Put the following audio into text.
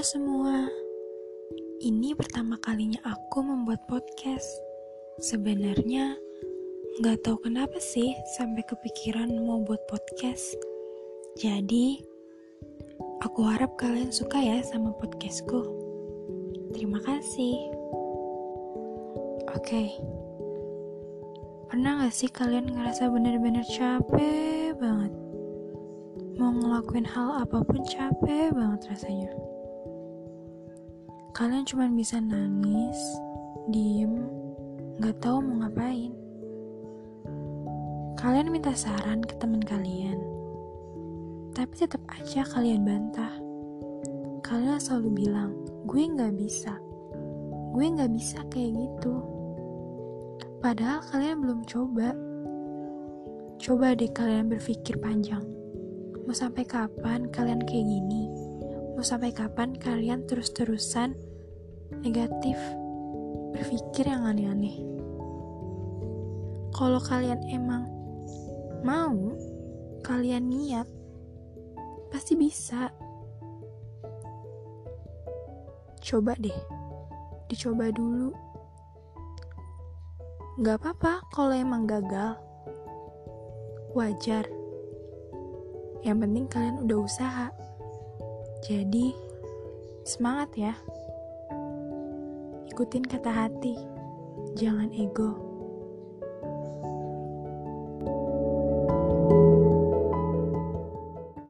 semua, ini pertama kalinya aku membuat podcast. Sebenarnya gak tahu kenapa sih sampai kepikiran mau buat podcast. Jadi aku harap kalian suka ya sama podcastku. Terima kasih. Oke. Pernah gak sih kalian ngerasa bener-bener capek banget? Mau ngelakuin hal apapun capek banget rasanya. Kalian cuma bisa nangis, diem, gak tahu mau ngapain. Kalian minta saran ke teman kalian, tapi tetap aja kalian bantah. Kalian selalu bilang, gue gak bisa kayak gitu. Padahal kalian belum coba. Coba deh kalian berpikir panjang. Mau sampai kapan kalian kayak gini? Mau sampai kapan kalian terus-terusan negatif, berpikir yang aneh-aneh? Kalau kalian emang mau, kalian niat, pasti bisa. Coba deh, dicoba dulu. Gak apa-apa kalau emang gagal, wajar. Yang penting kalian udah usaha. Jadi, semangat ya. Ikutin kata hati, jangan ego.